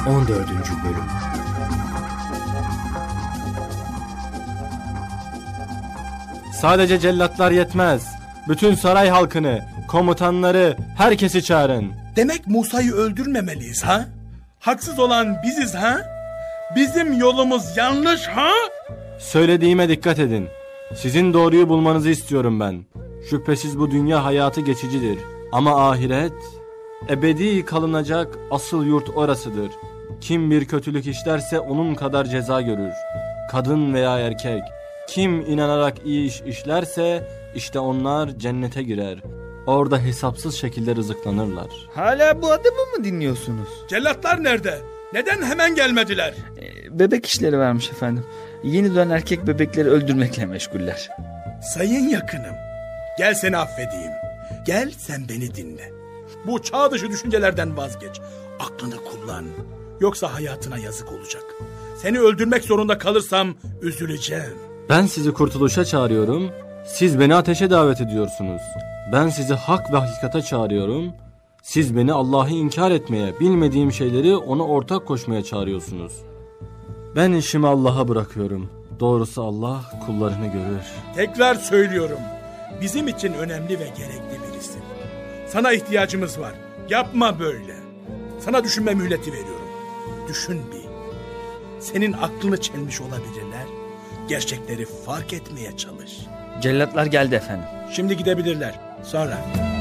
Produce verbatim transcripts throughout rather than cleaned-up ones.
on dördüncü Bölüm. Sadece cellatlar yetmez. Bütün saray halkını, komutanları, herkesi çağırın. Demek Musa'yı öldürmemeliyiz ha? Haksız olan biziz ha? Bizim yolumuz yanlış ha? Söylediğime dikkat edin. Sizin doğruyu bulmanızı istiyorum ben. Şüphesiz bu dünya hayatı geçicidir. Ama ahiret ebedi kalınacak asıl yurt orasıdır. Kim bir kötülük işlerse onun kadar ceza görür. Kadın veya erkek. Kim inanarak iyi iş işlerse işte onlar cennete girer. Orada hesapsız şekilde rızıklanırlar. Hala bu adamı mı dinliyorsunuz? Cellatlar nerede? Neden hemen gelmediler? Ee, bebek işleri varmış efendim. Yeni doğan erkek bebekleri öldürmekle meşguller. Sayın yakınım, gel seni affedeyim. Gel sen beni dinle. Bu çağ dışı düşüncelerden vazgeç. Aklını kullan. Yoksa hayatına yazık olacak. Seni öldürmek zorunda kalırsam üzüleceğim. Ben sizi kurtuluşa çağırıyorum. Siz beni ateşe davet ediyorsunuz. Ben sizi hak ve hakikate çağırıyorum. Siz beni Allah'ı inkar etmeye, bilmediğim şeyleri ona ortak koşmaya çağırıyorsunuz. Ben işimi Allah'a bırakıyorum. Doğrusu Allah kullarını görür. Tekrar söylüyorum. Bizim için önemli ve gerekli birisin. Sana ihtiyacımız var. Yapma böyle. Sana düşünme mühleti veriyorum. Düşün bir. Senin aklını çelmiş olabilirler. Gerçekleri fark etmeye çalış. Cellatlar geldi efendim. Şimdi gidebilirler. Sonra.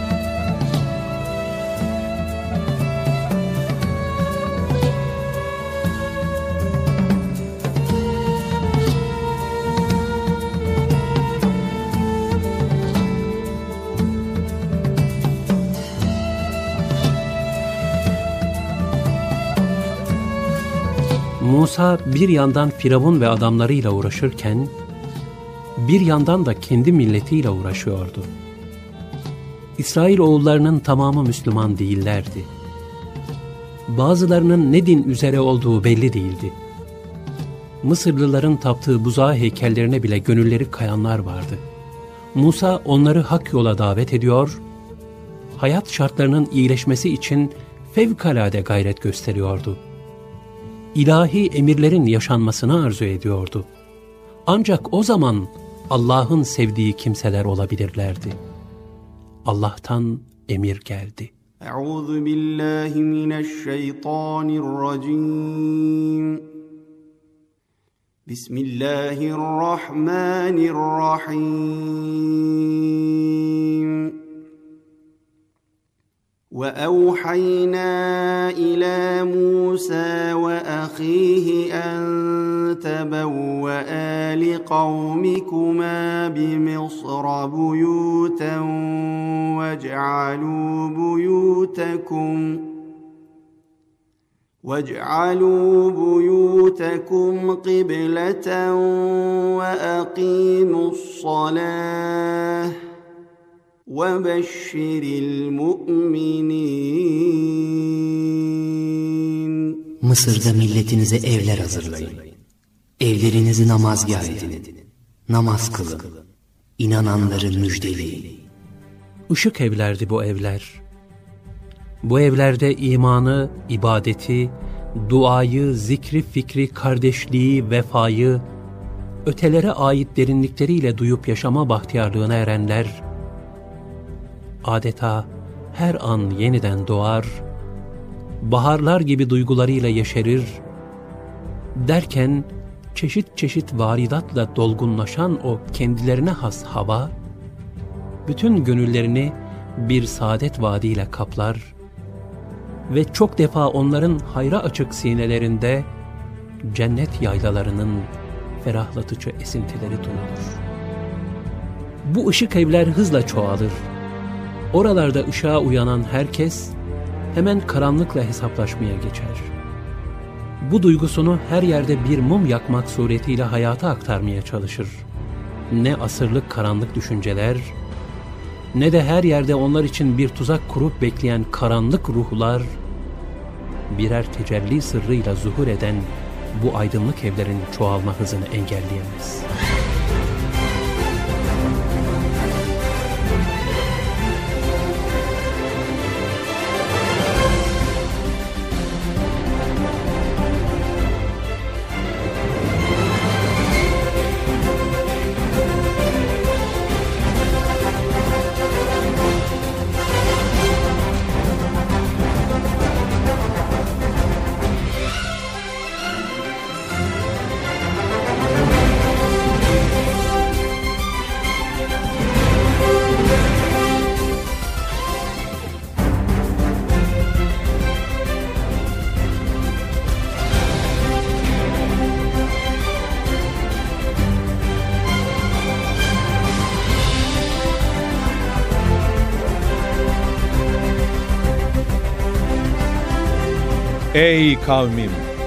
Musa bir yandan Firavun ve adamlarıyla uğraşırken bir yandan da kendi milletiyle uğraşıyordu. İsrail oğullarının tamamı Müslüman değillerdi. Bazılarının ne din üzere olduğu belli değildi. Mısırlıların taptığı buzağı heykellerine bile gönülleri kayanlar vardı. Musa onları hak yola davet ediyor, hayat şartlarının iyileşmesi için fevkalade gayret gösteriyordu. İlahi emirlerin yaşanmasını arzu ediyordu. Ancak o zaman Allah'ın sevdiği kimseler olabilirlerdi. Allah'tan emir geldi. Euzu billahi mineşşeytanirracim. Bismillahirrahmanirrahim. وَأَوْحَيْنَا إِلَى مُوسَى وَأَخِيهِ أَن تَبَوَّآ لِقَوْمِكُمَا بِمِصْرَ بُيُوتًا وَاجْعَلُوا بُيُوتَكُمْ وَاجْعَلُوا بُيُوتَكُمْ قِبْلَةً وَأَقِيمُوا الصَّلَاةَ وَبَشِّرِ الْمُؤْمِنِينَ. Mısır'da milletinize evler hazırlayın. Evlerinizi namazgâh edin. Namaz kılın. İnananları müjdeleyin. Işık evlerdi bu evler. Bu evlerde imanı, ibadeti, duayı, zikri, fikri, kardeşliği, vefayı, ötelere ait derinlikleriyle duyup yaşama bahtiyarlığına erenler, adeta her an yeniden doğar, baharlar gibi duygularıyla yeşerir, derken çeşit çeşit varidatla dolgunlaşan o kendilerine has hava, bütün gönüllerini bir saadet vaadiyle kaplar ve çok defa onların hayra açık sinelerinde cennet yaylalarının ferahlatıcı esintileri duyulur. Bu ışık evler hızla çoğalır. Oralarda ışığa uyanan herkes hemen karanlıkla hesaplaşmaya geçer. Bu duygusunu her yerde bir mum yakmak suretiyle hayata aktarmaya çalışır. Ne asırlık karanlık düşünceler, ne de her yerde onlar için bir tuzak kurup bekleyen karanlık ruhlar, birer tecelli sırrıyla zuhur eden bu aydınlık evlerin çoğalma hızını engelleyemez. Ey kavmim!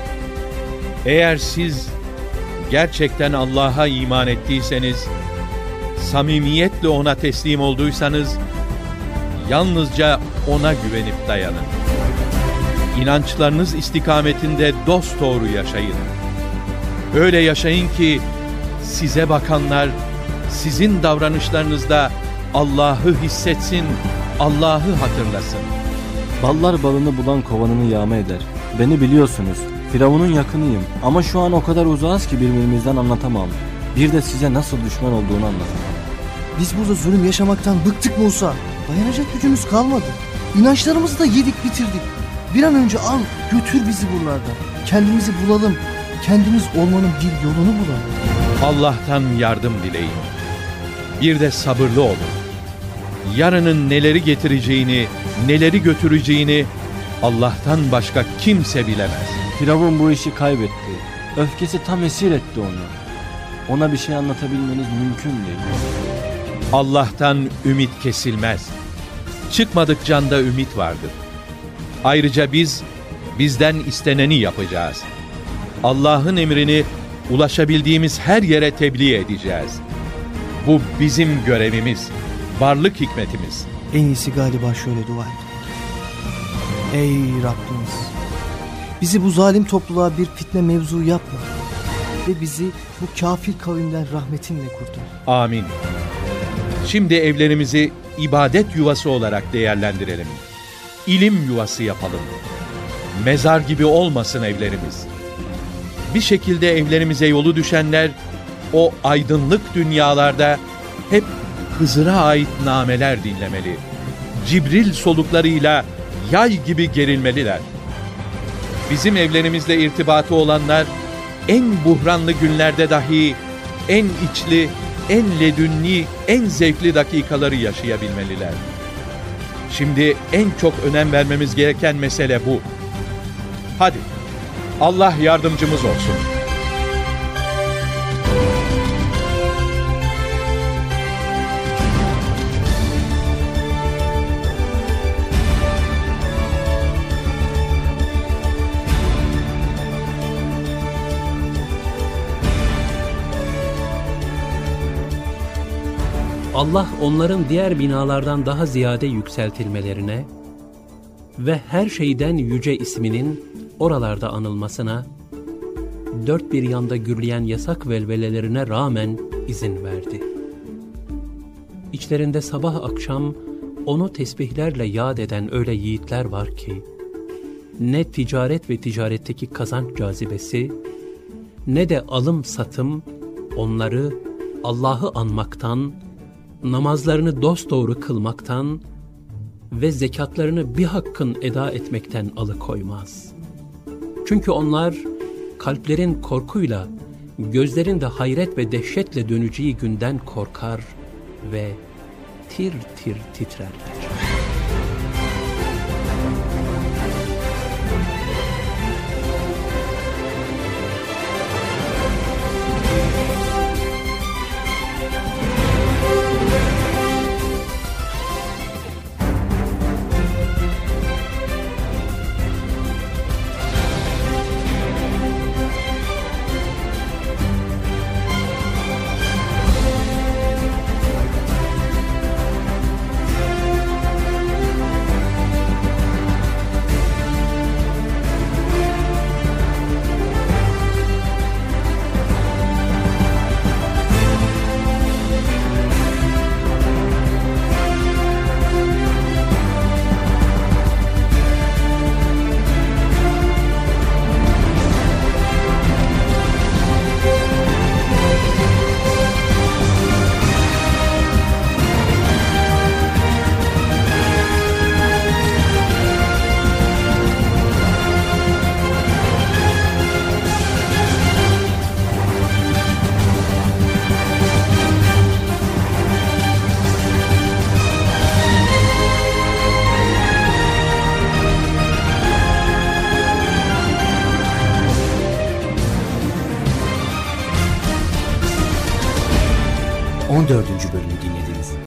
Eğer siz gerçekten Allah'a iman ettiyseniz, samimiyetle ona teslim olduysanız, yalnızca ona güvenip dayanın. İnançlarınız istikametinde dosdoğru yaşayın. Öyle yaşayın ki size bakanlar sizin davranışlarınızda Allah'ı hissetsin, Allah'ı hatırlasın. Ballar balını bulan kovanını yağma eder. Beni biliyorsunuz. Firavun'un yakınıyım ama şu an o kadar uzağız ki birbirimizden anlatamam. Bir de size nasıl düşman olduğunu anlatamam. Biz burada zulüm yaşamaktan bıktık Musa. Dayanacak gücümüz kalmadı. İnançlarımızı da yedik bitirdik. Bir an önce al götür bizi buralardan. Kendimizi bulalım. Kendimiz olmanın bir yolunu bulalım. Allah'tan yardım dileyin. Bir de sabırlı olun. Yarının neleri getireceğini, neleri götüreceğini Allah'tan başka kimse bilemez. Firavun bu işi kaybetti. Öfkesi tam esir etti onu. Ona bir şey anlatabilmeniz mümkün değil. Allah'tan ümit kesilmez. Çıkmadık canda ümit vardır. Ayrıca biz, bizden isteneni yapacağız. Allah'ın emrini ulaşabildiğimiz her yere tebliğ edeceğiz. Bu bizim görevimiz, varlık hikmetimiz. En iyisi galiba şöyle dua et. Ey Rabbimiz! Bizi bu zalim topluluğa bir fitne mevzu yapma. Ve bizi bu kafir kavimden rahmetinle kurtar. Amin. Şimdi evlerimizi ibadet yuvası olarak değerlendirelim. İlim yuvası yapalım. Mezar gibi olmasın evlerimiz. Bir şekilde evlerimize yolu düşenler, o aydınlık dünyalarda hep Hızır'a ait nameler dinlemeli. Cibril soluklarıyla yay gibi gerilmeliler. Bizim evlerimizle irtibatı olanlar, en buhranlı günlerde dahi en içli, en ledünni, en zevkli dakikaları yaşayabilmeliler. Şimdi en çok önem vermemiz gereken mesele bu. Hadi, Allah yardımcımız olsun. Allah onların diğer binalardan daha ziyade yükseltilmelerine ve her şeyden yüce isminin oralarda anılmasına, dört bir yanda gürleyen yasak velvelelerine rağmen izin verdi. İçlerinde sabah akşam onu tesbihlerle yad eden öyle yiğitler var ki, ne ticaret ve ticaretteki kazanç cazibesi, ne de alım satım onları Allah'ı anmaktan, namazlarını dosdoğru kılmaktan ve zekatlarını bir hakkın eda etmekten alıkoymaz. Çünkü onlar kalplerin korkuyla, gözlerin de hayret ve dehşetle döneceği günden korkar ve tir tir titrerler. on dördüncü bölümü dinlediniz.